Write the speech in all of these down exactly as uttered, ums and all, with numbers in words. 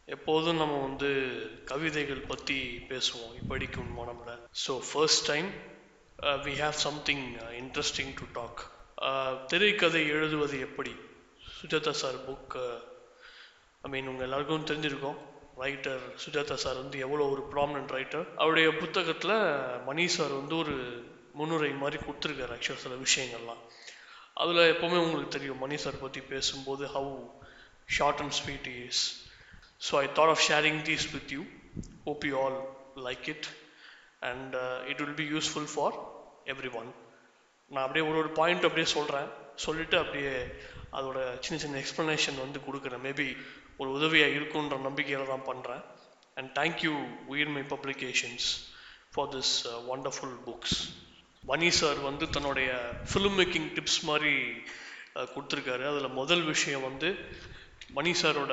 எப்போதும் நம்ம வந்து கவிதைகள் பற்றி பேசுவோம் இப்படிக்கும் மனம்ல. So first time we have something interesting to talk. திரைக்கதை எழுதுவது எப்படி, சுஜாதா சார் புக். ஐ மீன் உங்கள் எல்லாருக்கும் தெரிஞ்சிருக்கோம், ரைட்டர் சுஜாதா சார் வந்து எவ்வளோ ஒரு ப்ராமினன்ட் ரைட்டர். அவருடைய புத்தகத்தில் மணி சார் வந்து ஒரு முன்னுரை மாதிரி கொடுத்துருக்காரு ஆக்சுவலாக சில விஷயங்கள்லாம். அதில் எப்போவுமே உங்களுக்கு தெரியும் மணி சார் பற்றி பேசும்போது how short and sweet is. So I thought of sharing these with you. Hope you all like it and uh, it will be useful for everyone. நான் அப்படியே ஒரு ஒரு பாயிண்ட் அப்படியே சொல்கிறேன், சொல்லிவிட்டு அப்படியே அதோட சின்ன சின்ன எக்ஸ்ப்ளனேஷன் வந்து கொடுக்குறேன். மேபி ஒரு உதவியாக இருக்குன்ற நம்பிக்கையில் தான் பண்ணுறேன். And thank you Uyirmai publications for this wonderful books. Money sir வந்து தன்னுடைய ஃபிலிம் மேக்கிங் டிப்ஸ் மாதிரி கொடுத்துருக்காரு. அதில் முதல் விஷயம் வந்து மணி சாரோட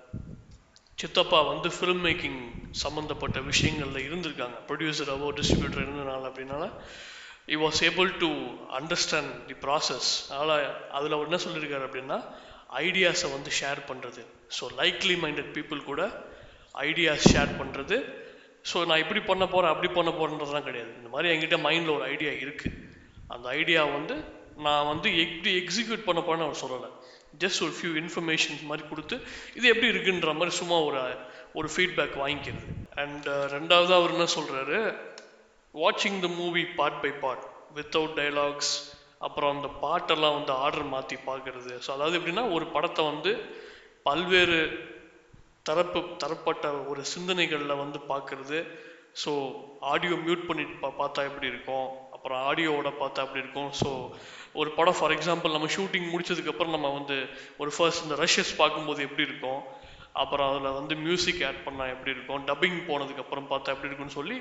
சித்தப்பா வந்து ஃபிலிம் மேக்கிங் சம்மந்தப்பட்ட விஷயங்களில் இருந்திருக்காங்க, ப்ரொடியூசராகவோ டிஸ்ட்ரிபியூட்டர் இருந்ததுனால. அப்படின்னால he was able to understand the process. அதனால் அதில் அவர் என்ன சொல்லியிருக்காரு அப்படின்னா, ஐடியாஸை வந்து ஷேர் பண்ணுறது. ஸோ லைக்லி மைண்டட் பீப்புள் கூட ஐடியாஸ் ஷேர் பண்ணுறது. ஸோ நான் இப்படி பண்ண போகிறேன் அப்படி பண்ண போகிறேன்றதுலாம் கிடையாது. இந்த மாதிரி என்கிட்ட மைண்டில் ஒரு ஐடியா இருக்குது, அந்த ஐடியா வந்து நான் வந்து எப்படி எக்ஸிக்யூட் பண்ண போகிறேன்னு அவர் சொல்லலை. ஜஸ்ட் ஒரு ஃபியூ இன்ஃபர்மேஷன்ஸ் மாதிரி கொடுத்து இது எப்படி இருக்குன்ற மாதிரி சும்மா ஒரு ஒரு ஃபீட்பேக் வாங்கிக்கிறது. அண்ட் ரெண்டாவது அவர் என்ன சொல்கிறாரு, வாட்சிங் the movie part by part without dialogues. அப்புறம் அந்த பாட்டெல்லாம் வந்து ஆர்டர் மாற்றி பார்க்குறது. ஸோ அதாவது எப்படின்னா ஒரு படத்தை வந்து பல்வேறு தரப்பு தரப்பட்ட ஒரு சிந்தனைகளில் வந்து பார்க்குறது. ஸோ ஆடியோ மியூட் பண்ணிட்டு பா பார்த்தா எப்படி இருக்கும், அப்புறம் ஆடியோவோட பார்த்தா அப்படி இருக்கும். ஸோ ஒரு படம் ஃபார் எக்ஸாம்பிள் நம்ம ஷூட்டிங் முடிச்சதுக்கப்புறம் நம்ம வந்து ஒரு ஃபர்ஸ்ட் இந்த ரஷ்யஸ் பார்க்கும்போது எப்படி இருக்கும், அப்புறம் அதில் வந்து மியூசிக் ஆட் பண்ணால் எப்படி இருக்கும், டப்பிங் போனதுக்கப்புறம் பார்த்தா எப்படி இருக்குன்னு சொல்லி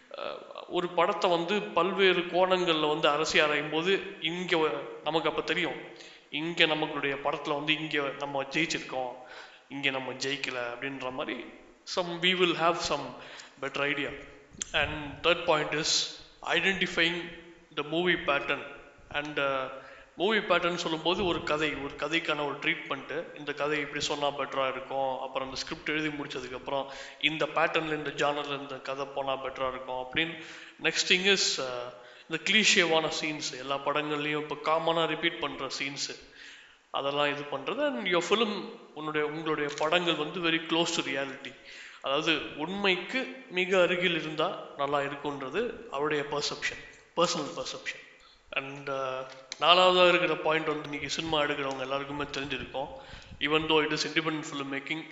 ஒரு படத்தை வந்து பல்வேறு கோணங்களில் வந்து அரசி ஆராயும் போது இங்கே நமக்கு அப்போ தெரியும், இங்கே நமக்குடைய படத்தில் வந்து இங்கே நம்ம ஜெயிச்சிருக்கோம், இங்கே நம்ம ஜெயிக்கலை அப்படின்ற மாதிரி some we will have some better idea. And third point is identifying the movie pattern. and movie pattern சொல்லும்போது ஒரு கதை, ஒரு கதைக்கான ஒரு ட்ரீட்மெண்ட்டு, இந்த கதை இப்படி சொன்னால் பெட்டராக இருக்கும், அப்புறம் அந்த ஸ்கிரிப்ட் எழுதி முடிச்சதுக்கப்புறம் இந்த பேட்டர்னில் இந்த ஜானரில் இந்த கதை போனால் பெட்டராக இருக்கும் அப்படின்னு. நெக்ஸ்ட் திங் இஸ் இந்த கிளீஷியவான சீன்ஸ், எல்லா படங்கள்லையும் இப்போ காமனாக ரிப்பீட் பண்ணுற சீன்ஸு, அதெல்லாம் இது பண்ணுறது. அண்ட் யோர் ஃபிலிம், உன்னுடைய உங்களுடைய படங்கள் வந்து வெரி க்ளோஸ் டு ரியாலிட்டி, அதாவது உண்மைக்கு மிக அருகில் இருந்தால் நல்லா இருக்குன்றது அவருடைய பர்செப்ஷன், பர்சனல் பர்செப்ஷன். அண்ட் நாலாவதாக இருக்கிற பாயிண்ட் வந்து இன்றைக்கி சினிமா எடுக்கிறவங்க எல்லாருக்குமே தெரிஞ்சிருக்கும், even though it is independent film making.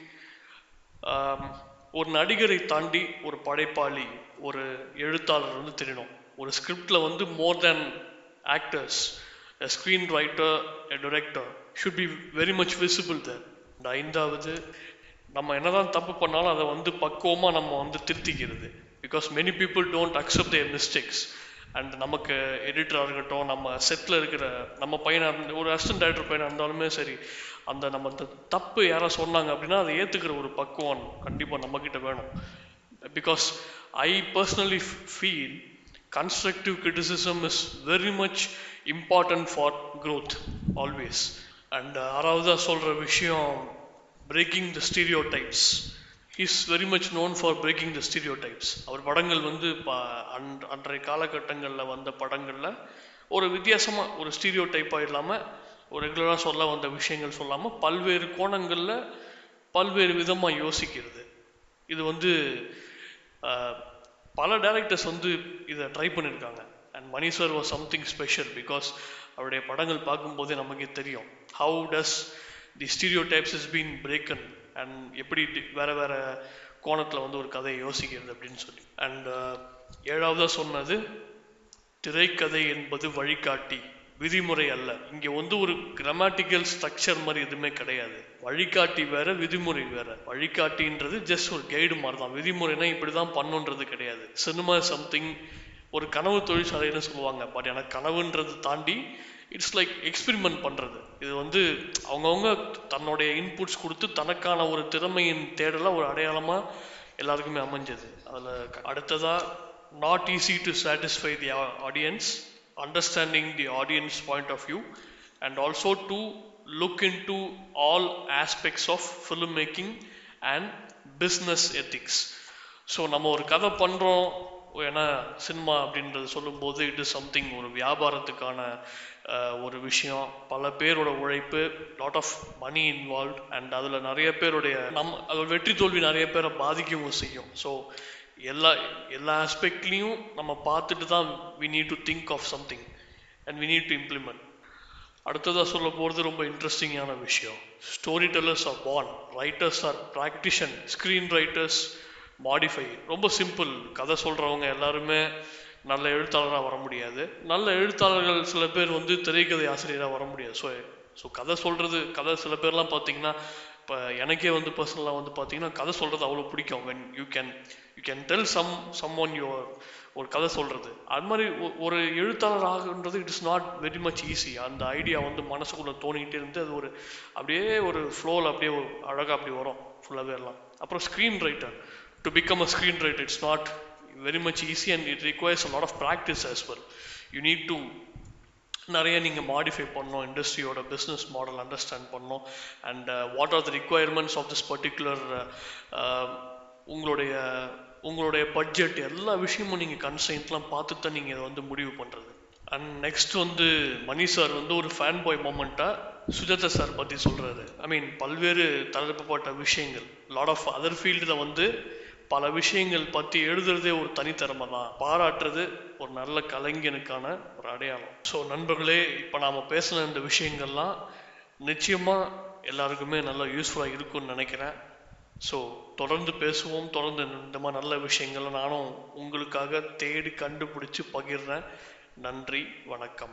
ஒரு நடிகரை தாண்டி ஒரு படைப்பாளி, ஒரு எழுத்தாளர் வந்து தெரியணும். ஒரு ஸ்கிரிப்டில் வந்து மோர் தேன் actors, a screenwriter, a director should be very much visible there. And ஐந்தாவது, நம்ம என்னதான் தப்பு பண்ணாலும் அதை வந்து பக்குவமாக நம்ம வந்து திருத்திக்கிறது. Because many people don't accept there mistakes. And நமக்கு எடிட்டராக இருக்கட்டும், நம்ம செட்டில் இருக்கிற நம்ம பையனாக, ஒரு அசிஸ்டன்ட் டைரக்டர் பையனாக இருந்தாலுமே சரி, அந்த நம்ம அந்த தப்பு யாராவது சொன்னாங்க அப்படின்னா அதை ஏற்றுக்கிற ஒரு பக்குவம் கண்டிப்பாக நம்மக்கிட்ட வேணும். Because I personally feel constructive criticism is very much important for growth always. and ஆறாவதா சொல்ற விஷயம், breaking the stereotypes. he is very much known for breaking the stereotypes. அவர் படங்கள் வந்து அன்றைய காலகட்டங்களில் வந்த படங்களில் ஒரு வித்தியாசமாக ஒரு ஸ்டீரியோ டைப்பாக இல்லாமல் ஒரு ரெகுலராக சொல்ல வந்த விஷயங்கள் சொல்லாமல் பல்வேறு கோணங்களில் பல்வேறு விதமாக யோசிக்கிறது. இது வந்து பல டேரக்டர்ஸ் வந்து இதை ட்ரை பண்ணியிருக்காங்க. And money sir was something special because அவருடைய படங்கள் பார்க்கும்போதே நமக்கு தெரியும் how does the stereo types is been broken and எப்படி வேறு வேறு கோணத்தில் வந்து ஒரு கதையை யோசிக்கிறது அப்படின்னு சொல்லி. அண்ட் ஏழாவதாக சொன்னது, திரைக்கதை என்பது வழிகாட்டி, விதிமுறை அல்ல. இங்கே வந்து ஒரு கிராமட்டிக்கல் ஸ்ட்ரக்சர் மாதிரி எதுவுமே கிடையாது. வழிகாட்டி வேற, விதிமுறை வேற. வழிகாட்டின்றது ஜஸ்ட் ஒரு கைடு மாதிரி தான், விதிமுறைனா இப்படி தான் பண்ணுன்றது கிடையாது. சினிமா சம்திங் ஒரு கனவு தொழிற்சாலைன்னு சொல்லுவாங்க, பட் எனக்கு கனவுன்றது தாண்டி இட்ஸ் லைக் எக்ஸ்பெரிமெண்ட் பண்ணுறது. இது வந்து அவங்கவுங்க தன்னுடைய இன்புட்ஸ் கொடுத்து தனக்கான ஒரு திறமையின் தேடலாம் ஒரு அடையாளமாக எல்லாருக்குமே அமைஞ்சது. அதில் அடுத்ததாக, not easy to satisfy the audience, understanding the audience point of view, and also to look into all aspects of filmmaking and business ethics. So நம்ம ஒரு கதை பண்ணுறோம், ஏன்னா சினிமா அப்படின்றது சொல்லும்போது இட் இஸ் சம்திங், ஒரு வியாபாரத்துக்கான ஒரு விஷயம், பல பேரோட உழைப்பு, lot of money involve, and அதில் நிறைய பேருடைய நம் அதோட வெற்றி தோல்வி நிறைய பேரை பாதிக்கவும் செய்யும். ஸோ எல்லா எல்லா ஆஸ்பெக்ட்லேயும் நம்ம பார்த்துட்டு தான் we need to think of something and we need to implement. அடுத்ததாக சொல்ல போகிறது ரொம்ப இன்ட்ரெஸ்டிங்கான விஷயம். Story tellers are born, writers R ப்ராக்டிஷன், screen writers modify. ரொம்ப சிம்பிள். கதை சொல்கிறவங்க எல்லாருமே நல்ல எழுத்தாளராக வர முடியாது. நல்ல எழுத்தாளர்கள் சில பேர் வந்து திரைக்கதை ஆசிரியராக வர முடியாது. ஸோ ஸோ கதை சொல்கிறது, கதை சில பேர்லாம் பார்த்தீங்கன்னா, இப்போ எனக்கே வந்து பர்சனலாக வந்து பார்த்தீங்கன்னா கதை சொல்கிறது அவ்வளோ பிடிக்கும். When you can you can tell some some one your ஒரு கதை சொல்கிறது. அது மாதிரி ஒரு எழுத்தாளர் ஆகுன்றது it is not very much easy. அந்த ஐடியா வந்து மனசுக்குள்ளே தோணிக்கிட்டே இருந்து அது ஒரு அப்படியே ஒரு ஃப்ளோவில் அப்படியே ஒரு அழகாக அப்படி வரும் ஃபுல்லாகவே எல்லாம். அப்புறம் screen writer, to become a screen writer it's not very much easy and it requires a lot of practice as well. You need to நிறைய நீங்கள் மாடிஃபை பண்ணணும், இண்டஸ்ட்ரியோட பிஸ்னஸ் மாடல் அண்டர்ஸ்டாண்ட் பண்ணணும், and what are the requirements of this particular, உங்களுடைய உங்களுடைய budget, எல்லா விஷயமும் நீங்கள் கன்ஸ்ட்ரெயின்ட்லாம் பார்த்து தான் நீங்கள் இதை வந்து முடிவு பண்ணுறது. அண்ட் நெக்ஸ்ட் வந்து மணி சார் வந்து ஒரு ஃபேன் பாய் மூமெண்ட்டாக சுஜாதா சார் பற்றி சொல்கிறாரு. ஐ மீன் பல்வேறு தரப்பட்ட விஷயங்கள், லாட் ஆஃப் அதர் ஃபீல்டில் வந்து பல விஷயங்கள் பற்றி எழுதுறதே ஒரு தனித்திறமை தான். பாராட்டுறது ஒரு நல்ல கலைஞனுக்கான ஒரு அடையாளம். ஸோ நண்பர்களே, இப்போ நாம் பேசின இந்த விஷயங்கள்லாம் நிச்சயமாக எல்லாருக்குமே நல்லா யூஸ்ஃபுல்லாக இருக்கும்னு நினைக்கிறேன். ஸோ தொடர்ந்து பேசுவோம், தொடர்ந்து இந்த மாதிரி நல்ல விஷயங்களை நானும் உங்களுக்காக தேடி கண்டுபிடிச்சி பகிர்றேன். நன்றி, வணக்கம்.